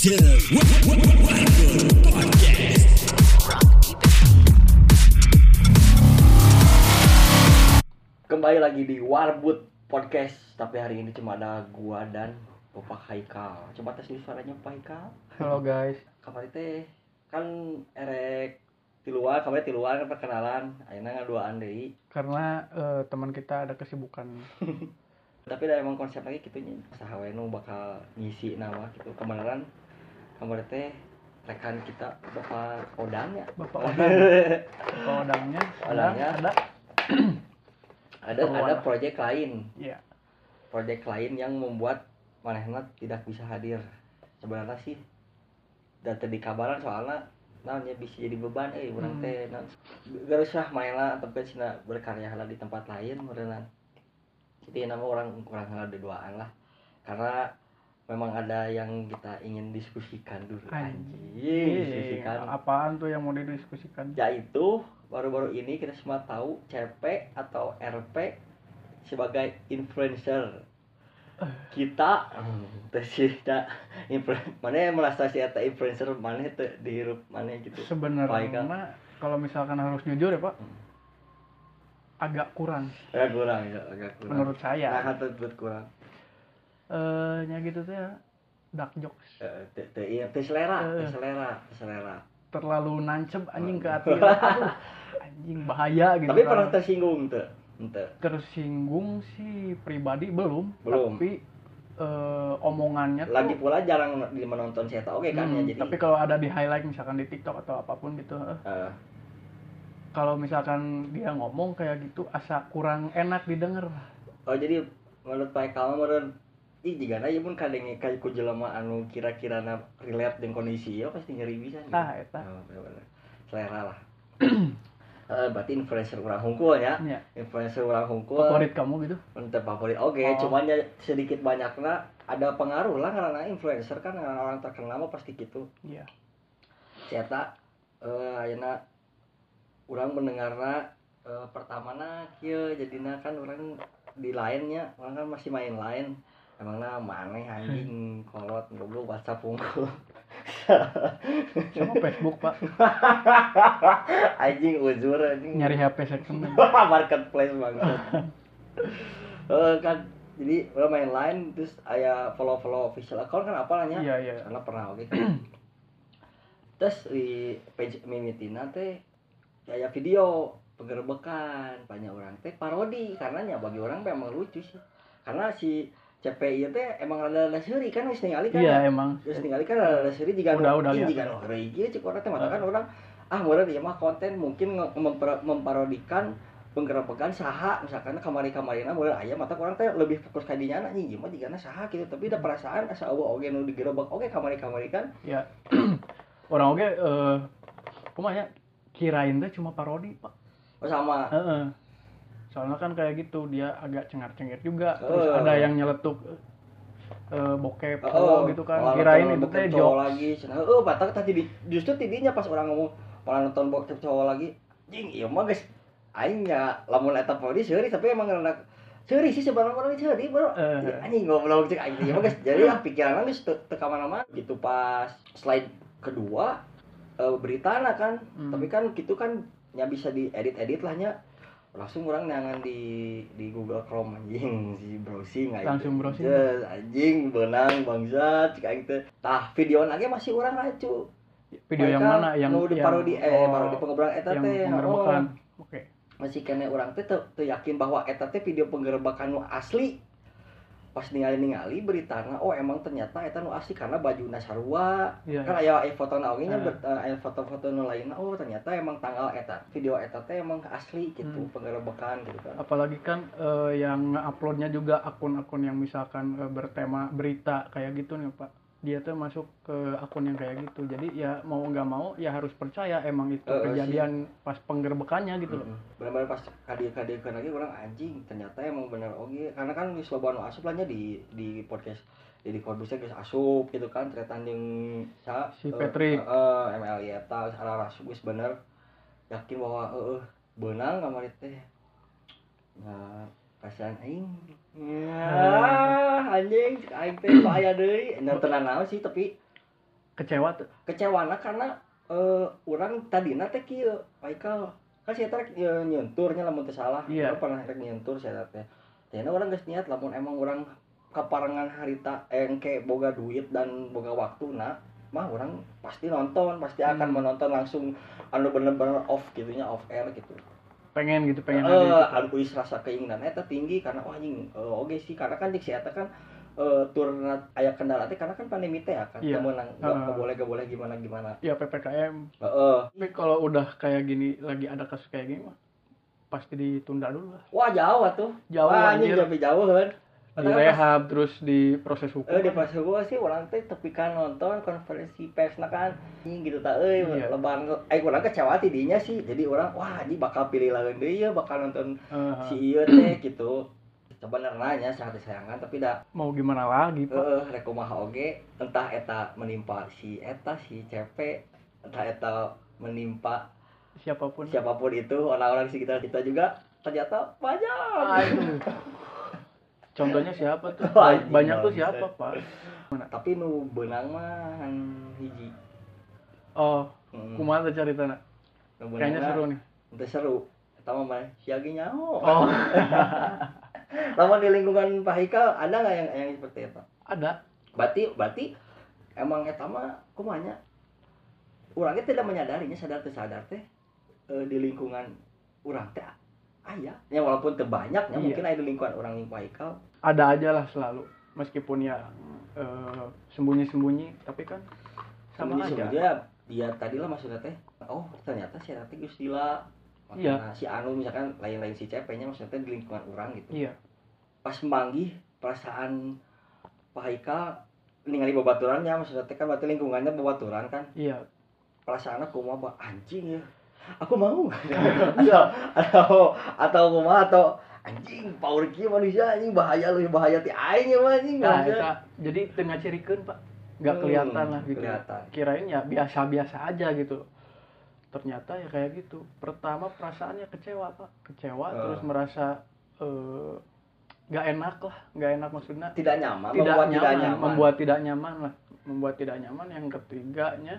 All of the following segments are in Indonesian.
Kembali lagi di Warbut Podcast, tapi hari ini cuma ada gua dan Bapak Haikal. Coba tes suaranya Pak Haikal. Halo guys. Kabar teh kan erek di luar kan perkenalan, ayeuna ngaduaan deui. Karena teman kita ada kesibukan. Tapi da emang konsep lagi kitu nya, saha we nu bakal ngisi nama gitu. Kebenaran kabar teh rekan kita Bapak Odang ya. Bapak Odang. Bapak Odangnya ada proyek lain. Iya. Proyek lain yang membuat manehna tidak bisa hadir. Sebenarnya sih da teu dikabaran soalna naonnya bisa jadi beban urang teh geus lah manehna tempat cenah berkarya heula di tempat lain meureunna. Jadi nama orang heula duaan lah. Karena memang ada yang kita ingin diskusikan dulu. Diskusikan. Apaan tuh yang mau didiskusikan? Yaitu baru-baru ini kita semua tahu CP atau RP sebagai influencer. Kita mana yang merasa si eta influencer mana teu dihirup mana gitu. Sebenarnya kalau misalkan harus jujur ya, Pak. Agak kurang. Menurut saya. Nah, teu kurang. Nya gitu teh dark jokes. Teu selera. Terlalu nancep anjing ke hati. Aduh, anjing bahaya gitu. Tapi pernah tersinggung teu? Ente. Tersinggung sih pribadi belum. Tapi omongannya lagi tuh pula jarang menonton saya tahu kan ya, jadi tapi kalau ada di highlight misalkan di TikTok atau apapun gitu kalau misalkan dia ngomong kayak gitu asa kurang enak didengar. Oh jadi menurut Pak Eka meureun jigana ieu mun kadenge ka ku jelema anu kira-kirana relate jeung kondisi ieu pasti nyeri bisa gitu. Eta. Bener. Selera lah. Berarti influencer urang hungkul ya. Influencer urang hungkul. Favorit kamu gitu? Untuk favorit. Oke, cuman ya sedikit banyaknya ada pengaruh lah karena influencer kan orang terkenal mah pasti gitu. Iya. Eta ayeuna urang mendengarna pertamana kieu jadina kan urang di lainnya, urang kan masih main lain. Emangna maneh anjing kolot goblok WhatsApp hungkul. Sama Facebook, Pak. Anjing uzur anjing. Nyari HP second. Marketplace banget. Kan jadi udah main line terus aya follow official account kan apalanya? Iya. Karena pernah oke kan. Terus di page mimitina teh aya video penggerebekan banyak orang teh parodi karena nya bagi orang memang lucu sih. Karena si CPI teh emang ada seuri kan geus ningali kan. Iya, emang. Geus ningali kan ada seuri jiga udah jiga heureuy ieu cik urang teh matakan urang meureun ieu mah konten mungkin memparodikan penggerebekan saha misalkan kamari-kamarina meureun aya mata urang teh lebih fokus ka dinya anjing ieu mah jigana saha gitu tapi da perasaan asa eueuh oge nu digerebek oge kamari-kamari kan. Iya. Orang oge kumaha nya kirain teh cuma parodi, Pak. Oh sama. Soalnya kan kayak gitu dia agak cengar-cengir juga terus ada yang nyeletuk bokep gitu kan kirain itu teh cowok lagi cenah batak tadi justru tidinya pas orang ngomong malah nonton bokep cowok lagi jing ieu mah geus aing nya lamun eta parodi seuri tapi emang rada seuri sih sebenarnya orang seuri bro anjing goblok cek aing ieu mah geus jadi pikiran geus teu ka mana-mana gitu. Pas slide kedua beritana kan tapi kan gitu kan nya bisa diedit lah nya langsung orang nyangan di Google Chrome anjing si browsing aja langsung browsing anjing benang bangsat cik aing teh tah video lagi masih orang racu video yang mana yang parodi parodi pengerebekan eta teh oke masih kene urang teh teu yakin bahwa eta teh video penggerebekan nu asli pas ningali beritana emang ternyata eta nu asli karena bajuna sarua kan aya fotona oge nya aya foto-foto nu lainna ternyata emang tanggal eta video eta teh emang asli gitu penggerebekan gitu kan. Apalagi kan yang uploadnya juga akun-akun yang misalkan bertema berita kayak gitu nih Pak, dia tuh masuk ke akun yang kayak gitu jadi ya mau nggak mau ya harus percaya emang itu kejadian pas penggerbekannya gitu loh. Benar-benar pas kadir-kadirkan lagi orang anjing ternyata emang bener oge karena kan wis loba anu asup lahnya di podcast jadi kondusnya geus asup gitu kan ternyata yang si Patrick MLI eta arah asup geus bener yakin bahwa beunang kamari teh nah perasaan aing anjing aing teh aya deui nontonan naon sih tapi Kecewa tuh. Kecewana karena urang tadina teh kieu Haikal kan saya teh nyenturnya lamun teu salah Iya. urang pernah rek nyentur saya teh tadinya urang geus niat lamun emang urang kaparengan harita engke boga duit dan boga waktuna mah urang pasti nonton pasti akan menonton langsung anu bener-bener off gitunya off air gitu Pengen gitu ada gitu. anu kuis rasa keinginan eta tinggi karena wah anjing oge sih karena kan si eta kan tur aya kendala teh karena kan pandemi teh ya kan Iya. menang gak boleh gimana Ya PPKM. heeh. Tapi kalau udah kayak gini lagi ada kasus kayak gini mah pasti ditunda dulu lah. Wah jauh tuh. Jauh, wah anjing anjir. lebih jauh kan. Direhab terus di proses hukum. Di proses hukum sih orang teh tepi kan nonton konferensi persna kan anjing gitu ta Iya. lebaran urang kecewa ti dinya sih. Jadi orang wah anjing bakal pilih lawan deui ya bakal nonton si ieu teh gitu. Sebenarnya nya sangat disayangkan tapi dah mau gimana lagi, Pak? rek kumaha oge entah eta menimpa si CP entah eta menimpa Siapapun itu orang-orang di sekitar kita juga ternyata banyak. Aduh. Contohnya siapa tuh? Wah, Banyak tuh gimana, siapa, Pak? Tapi nu beunang mah hiji. Oh, kumaha teh caritana? Nu Kayaknya seru nih. Teu seru. Eta mah siagi nyaho. Oh. Lamun di lingkungan Pak Haikal ada enggak yang seperti itu? Ada. Berarti emang eta mah kumaha nya? Urang tidak menyadarinya sadar teu sadar teh di lingkungan urang teh aya. Ya walaupun teu banyaknya mungkin aya di lingkungan urang Pak Haikal. Ada aja lah selalu. Meskipun ya sembunyi-sembunyi tapi kan sama aja. Dia tadilah maksudnya teh oh ternyata si teh geus gila. Iya. Si anu misalkan lain-lain si CP-nya maksudnya di lingkungan urang gitu. Iya. Pas manggih perasaan Pak Haikal ningali babaturannya maksudnya teh kan berarti lingkungannya babaturan kan. Iya. Perasaannya kumaha anjing ya. Aku mau. atau kumaha atau anjing power kieu manusia anjing bahaya ti aing ya anjing. Nah, jadi teu ngacirikeun, Pak. Enggak kelihatan lah gitu. Kelihatan. Kirain ya biasa-biasa aja gitu. Ternyata ya kayak gitu. Pertama perasaannya kecewa, Pak. Terus merasa nggak enak maksudnya. Tidak nyaman. Membuat tidak nyaman. Yang ketiganya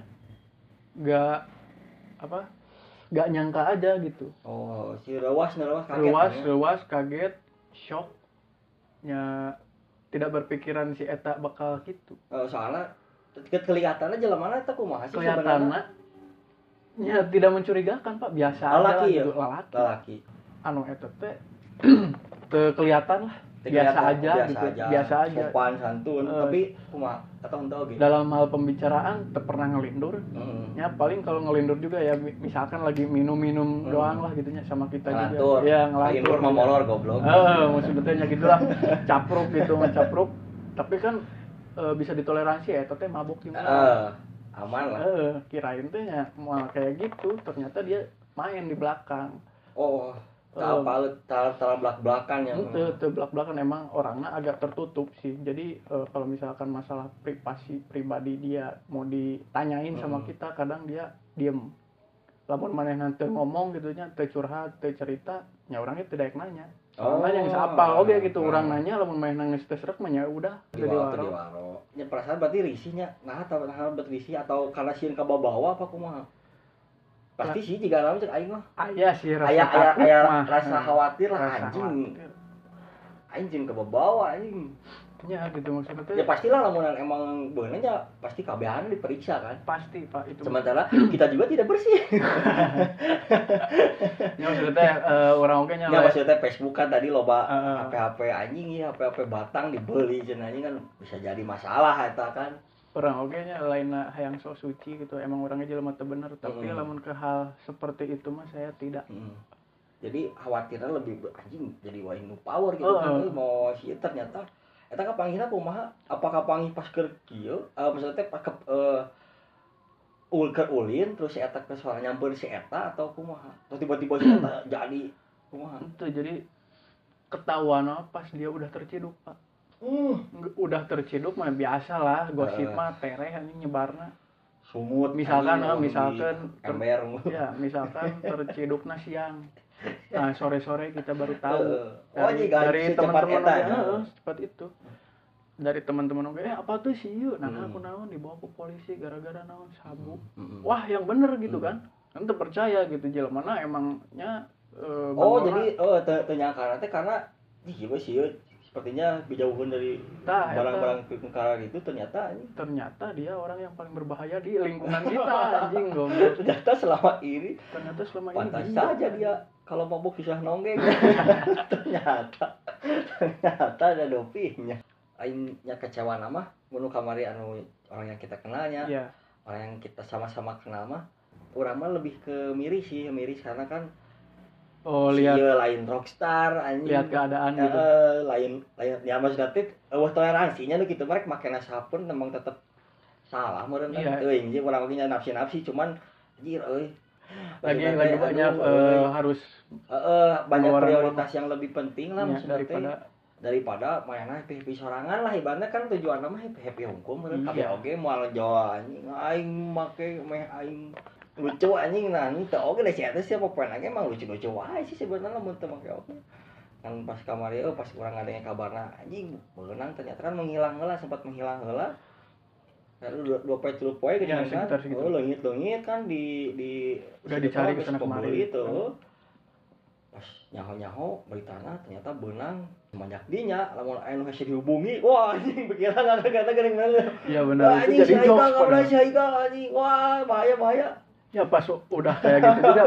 nggak nyangka aja gitu. Oh, si rewas kaget. Rewas kaget, shock. Ya tidak berpikiran si eta bakal gitu. Soalnya kelihatannya jelemana eta kumaha sih sebenarnya? Kelihatannya ya tidak mencurigakan, Pak. Biasa aja gitu. Lelaki. Anu eta teh kelihatan lah. Biasa aja. Sopan santun, tapi kumaha atau henteu gitu. Dalam hal pembicaraan teu pernah ngelindur. Ya paling kalau ngelindur juga ya misalkan lagi minum doang lah gitunya sama kita ngelantur. juga. Ya ngelantur mah molor goblok. Maksudnya gitulah. Capruk gitu, mencapruk. Tapi kan bisa ditoleransi ya, teh mabuk gimana. Aman lah. Kirain teh ya malah kayak gitu, ternyata dia main di belakang. Oh. Tahu belak-belakan ya. Itu belak-belakan emang orangnya agak tertutup sih. Jadi kalau misalkan masalah pribadi dia mau ditanyain sama kita, kadang dia diem. Lamun manehna teu ngomong gitunya, teu curhat, teu cerita, nya orangnya teu daek nanya. Soalnya yang sapal oge gitu, urang nanya lamun manehna geus teu srek mah nya udah teu diwaro. Nya perasaan berarti risihnya, nah berrisih atau karena sieun ka bawa apa kumaha? Pasti sih jika lamun cek aing mah. Aya sih rasa rasa khawatir lah anjing. Anjing kebawa anjing. Ya gitu maksudnya teh. Ya pastilah lamunan emang beuneu nya pasti kabehan diperiksa kan. Pasti, Pak, itu. Sementara kita juga tidak bersih. Ya maksudnya teh urang oge nya. Ya maksudnya Facebook kan tadi loba HP-HP anjing ya, HP-HP batang dibeli cenah anjing kan bisa jadi masalah eta kan. Orang oge nya lain hayang sok suci gitu, emang orangnya jelema teu bener, tapi lamun ke hal seperti itu mah saya tidak. Jadi khawatirnya lebih anjing jadi wae nu power gitu kan mau si ternyata eta kapanggihna kumaha? Apakah panggih pas keur kieu? Maksudnya teh ulin terus si eta ke soal nyampeun si eta atau kumaha? Terus tiba-tiba si eta jadi kumaha? Itu jadi ketahuan pas dia udah terciduk, Pak. Udah terciduk mah biasa lah, gosip mah tereh anjing nyebarna. Sumut misalkan ember. Ya, misalkan tercidukna siang. Nah, sore-sore kita baru tahu. Dari teman-teman seperti itu. dari teman-teman oke apa tuh sih yuk nah aku naon dibawa ke polisi gara-gara naon sabu wah yang bener gitu kan percaya gitu jelema mana emangnya jadi ternyata karena gimana sih sepertinya dijauhkan dari barang-barang perkara gitu ternyata dia orang yang paling berbahaya di lingkungan kita anjing goblok. ternyata selama ini pantas saja dia kalau mabuk susah nonggeng. ternyata ada dopingnya. Aingnya kecewa nama mun kamari anu orang yang kita kenalnya orang yang kita sama-sama kenal mah urang mah lebih ke miris karena kan lihat lain rockstar anjing lihat keadaan gitu lain ya maksudnya teh toleransinya nu kitu mereka make sabun memang tetep salah meureun teuing jeung urang ge nafsi cuman anjir lagi banyak harus banyak prioritas yang lebih penting lah maksudnya daripada mainan happy sorangan lah ibaratnya kan tujuan mah happy hukum meureun kabeh oge moal ngejoa anjing aing make meh aing lucu anjing nang teu oge da sia teh sia popoena ge emang lucu-lucu wae sih sebenarnya mun teu make oge kan pas kamari pas urang ngadenge kabarna anjing beunang ternyata kan menghilang heula sempat menghilang heula lalu 2-3 poe geuning kan leungit kan di udah dicari ke sana kemari itu pas nyaho beritana ternyata beunang semenjak dinya lamun aya nu hese dihubungi wah anjing pikirna kata geuning bener iya benar itu jadi jokes anjing wah bahaya ya pas udah kayak gitu juga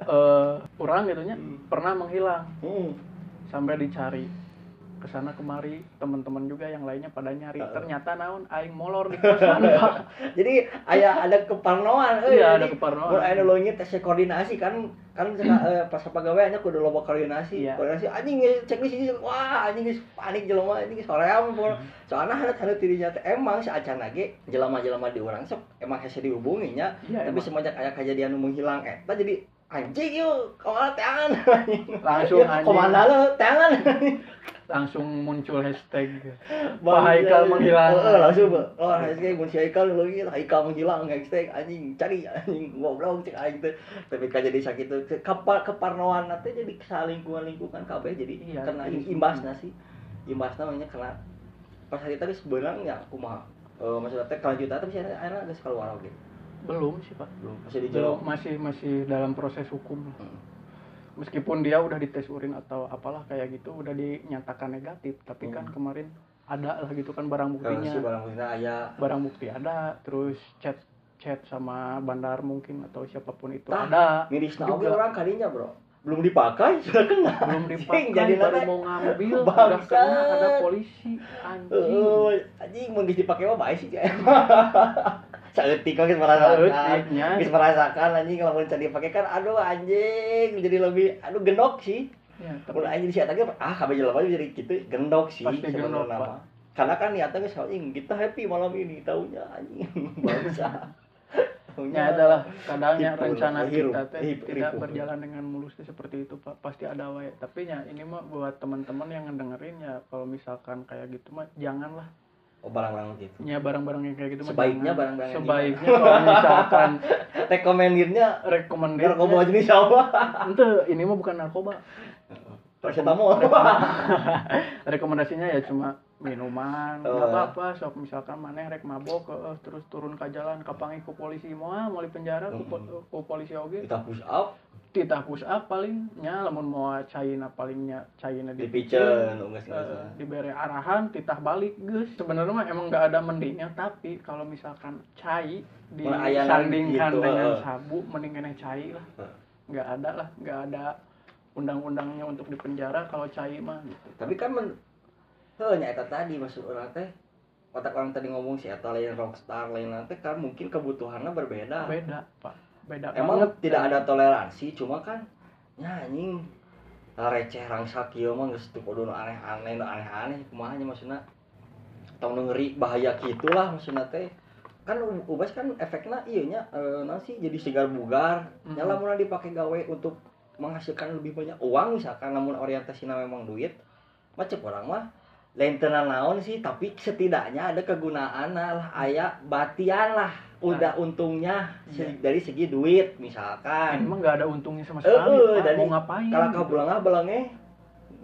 orang gitunya pernah menghilang sampai dicari kesana kemari teman-teman juga yang lainnya pada nyari ternyata naon aing molor di kosan Pak. Jadi ada keparnoan ada keparnoan mun aya nu leungit tes koordinasi kan pas pagaweannya kudu loba koordinasi anjing cek di sini wah anjing geus panik jelema anjing soream soalna hadat dirinya teh emang saacana ge jelema-jelema di urang sok emang hese dihubungi nya tapi semenjak aya kejadian nu menghilang eta jadi anjing yuk komandan tangan langsung anjing komandan tangan langsung muncul hashtag Pak Haikal menghilang langsung hashtag mun si Haikal leuwih Haikal menghilang hashtag anjing cari anjing goblok cek aing teh tapi ka jadi sakitu keparnoan teh jadi salingkungan kabeh jadi kena imbasna nya kena pas hari tadi sebenarnya kumaha maksudnya teh kelanjutan tapi akhirnya geus keluar oge belum sih Pak masih dalam proses hukum meskipun dia udah dites urin atau apalah kayak gitu udah dinyatakan negatif tapi kan kemarin ada lah gitu kan barang buktinya barang bukti ada terus chat sama bandar mungkin atau siapapun itu ada mirisna oge orang kadinya bro belum dipakai sudah kena belum dipakai baru mau ngambil udah kena ada polisi anjing mun geus dipake mah bae sih saeutik geus merasakan anjing lamun can dipake kan aduh anjing jadi lebih gendok sih mun anjing sia teh kabeh jelema jadi kitu gendok sih sebenarnya karena kan niatnya geus anjing kita happy malam ini taunya anjing bangsa ya adalah kadangnya rencana kita teh tidak berjalan dengan mulus seperti itu Pak pasti ada wae tapi ya ini mah buat teman-teman yang ngedengerin ya kalau misalkan kayak gitu mah janganlah barang-barang gitu ya barang-barang yang kayak gitu sebaiknya mah barang-barang sebaiknya kalau misalkan rekomendir narkoba jenis apa itu ini mah bukan narkoba paracetamol rekomendasinya ya cuma minuman nggak apa-apa sok misalkan maneh rek mabok terus turun ke jalan kapangi ku polisi moal di penjara ku polisi oge titah push up palingnya lamun moal caina palingnya caina dipiceun dibere arahan titah balik geus sebenarnya mah emang enggak ada mendingnya tapi kalau misalkan cai disandingkan gitu, dengan sabu mending keneh cai lah enggak ada undang-undangnya untuk dipenjara kalau cai mah gitu. Tapi kan nya eta tadi maksud urang teh otak orang tadi ngomong si eta lain rockstar lain teh kan mungkin kebutuhannya berbeda Pak beda emang banget tidak ada toleransi cuma kan nya anjing receh rangsa kieu mah geus teu kudu aneh-aneh kumaha nya maksudna tong ngeri bahaya kitulah maksudna teh kan ubas kan efekna ieu nya naon sih jadi segar bugar nya lamun dipake gawe untuk menghasilkan lebih banyak uang misalkan lamun orientasina memang duit mah cek urang mah lain tenan naon sih tapi setidaknya ada kegunaan lah aya batian lah udah untungnya dari segi duit misalkan emang nggak ada untungnya sama sekali mau ngapain kalau kabulang belangnya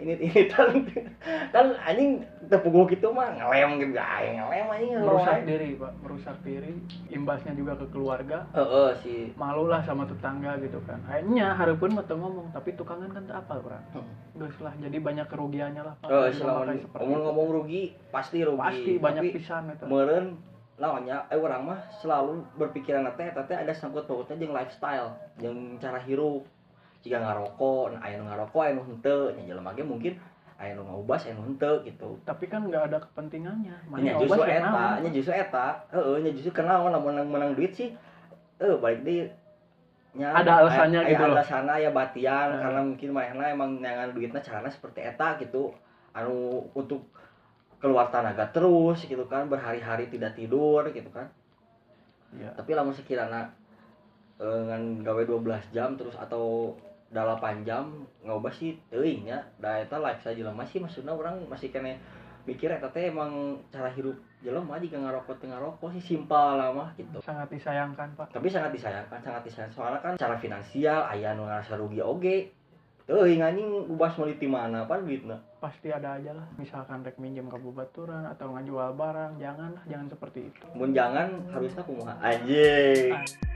ini kan anjing tepuguk gitu mah ngelem gitu ngelem anjing merusak diri imbasnya juga ke keluarga sih malu lah sama tetangga gitu kan akhirnya hareupeun mah teu ngomong tapi tukangan kan teu apal urang geus lah jadi banyak kerugiannya lah Pak selama ngomong rugi pasti banyak pisan eta meureun lawannya urang mah selalu berpikiran teh ada sangkut pautnya jeung lifestyle jeung cara hirup jika ngarokok, aya nu ngarokok, aya nu henteu, nya jelema ge mungkin aya nu ngaubas, aya nu henteu gitu. Tapi kan enggak ada kepentingannya. Nya justru eta, nya justru kenaon lamun menang duit sih. Balik deui nya ada alasannya gitu loh. Ada alasanna ya batian karena mungkin manehna emang nyangan duitna carana seperti eta gitu. Anu untuk keluar tenaga terus gitu kan, berhari-hari tidak tidur gitu kan. Iya. Tapi lamun sekirana ngan gawe 12 jam terus atau 8 jam ngobas sih teuing nya da eta life saja jelema sih maksudna urang masih kene mikir eta teh emang cara hirup jelema jika ngarokok sih simpel lah mah gitu. Sangat disayangkan, Pak. Tapi sangat disayangkan soalnya kan cara finansial aya nu ngarasa rugi oge. Teuing anjing ubas meuli ti mana pan duitna. Pasti ada aja lah. Misalkan rek minjem ke babaturan atau ngajual barang, jangan seperti itu. Mun jangan harusnya kumaha anjing.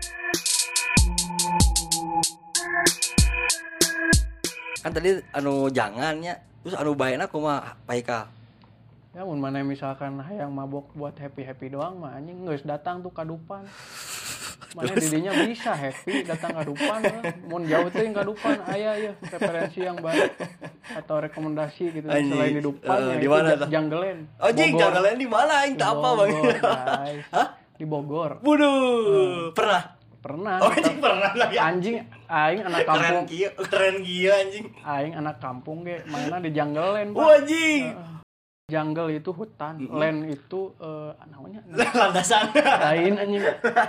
Kan tadi anu jangannya terus anu baeuna kumaha Paika ya mun mana misalkan hayang mabok buat happy doang mah anjing geus datang tuh kadupan mana didinya bisa happy datang kadupan mun jauh teh kadupan aya ya referensi yang baik atau rekomendasi gitu selain di dupan ya di mana tah Janggelen Janggelen di mana aing teh apa Bang hah di Bogor waduh pernah lagi anjing aing anak kampung keren gila anjing aing anak kampung ge mainna di Janggelen Pak anjing jungle itu hutan land itu namanya landasan lain anjing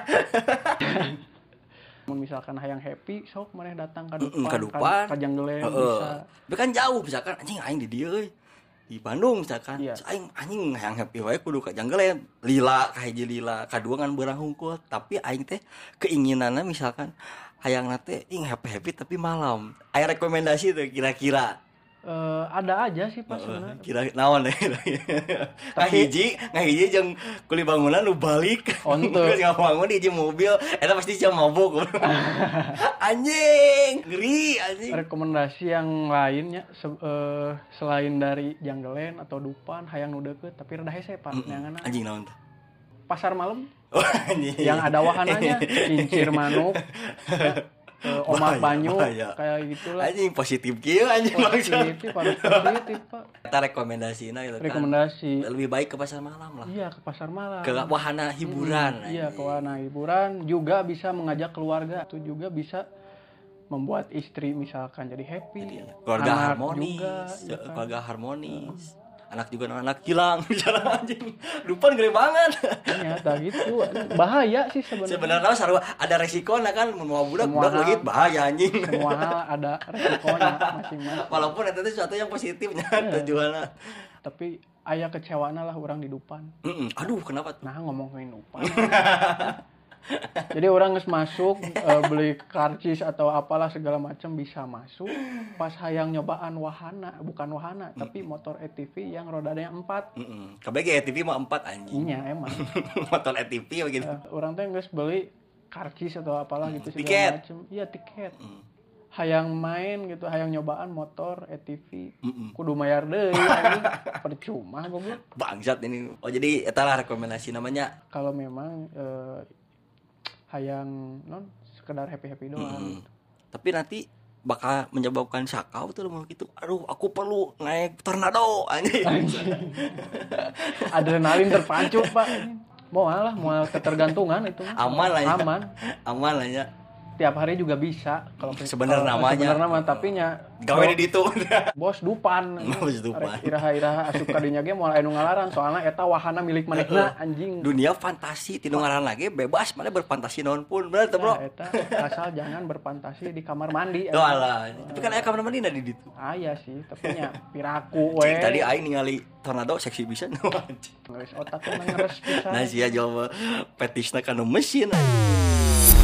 misalkan hayang happy sok maneh datang ka depan ka Janggelen bisa tapi kan jauh misalkan anjing aing di dieu euy di Bandung misalkan aing hayang happy wae kudu ka Janggelen lila ka hiji lila kadua ngan beurang hungkul tapi aing teh keinginanna misalkan hayang teh happy tapi malam aya rekomendasi tuh kira-kira ada aja sih Pak sebenarnya kira naon deh ngahiji jeung kuli bangunan lu balik untuk ngabangun di hiji mobil eta pasti jam mabok anjing ngeri anjing rekomendasi yang lainnya selain dari Janggelen atau Dupan hayang nu deukeut tapi rada hese Pak nyanganna anjing naon teh pasar malam yang ada wahananya kincir manuk omak banyu kayak gitulah anjing positif kieu anjing positif Pak eta rekomendasina gitu kan rekomendasi lebih baik ke pasar malam lah iya ke pasar malam ke wahana hiburan iya ke wahana hiburan juga bisa mengajak keluarga itu juga bisa membuat istri misalkan jadi happy keluarga harmonis juga, keluarga harmonis anak juga anak hilang bicara anjing Dupan gede banget ternyata gitu bahaya sih sebenarnya sarua ada resikonya kan mau budak lagi bahaya anjing semua hal ada resikonya masing-masing walaupun itu sesuatu yang positifnya tujuannya tapi aya kecewaana lah orang di Dupan aduh kenapa tuh nah ngomongin Dupan jadi orang geus masuk beli karcis atau apalah segala macam bisa masuk pas hayang nyobaan bukan wahana tapi motor ATV yang rodanya 4 kabeh ATV mah 4 anjing iya emang motor ATV begitu orang teh geus beli karcis atau apalah gitu segala macam iya tiket hayang main gitu hayang nyobaan motor ATV kudu mayar deui anjing percuma goblok bangsat ini jadi eta lah rekomendasi namanya kalau memang hayang sekedar happy doang tapi nanti bakal menyebabkan sakau tuh mau gitu aduh aku perlu naik tornado anjing adrenalin terpacu Pak mau ketergantungan itu aman lah ya tiap hari juga bisa kalau sebenarnya namanya tapi nya gawe di ditu bos Dupan iraha asup ka dinya ge moal anu ngalaran soalna eta wahana milik manehna anjing dunia fantasi ti nu ngaran lagi bebas mana berfantasi naon pun bener teh bro eta asal jangan berfantasi di kamar mandi alah tapi kan aya kamar mandi di ditu aya sih tapi nya piraku we tadi aing ningali tornado seksi pisan geus otak mah ngeres pisan nah sia jawab petisna kana mesin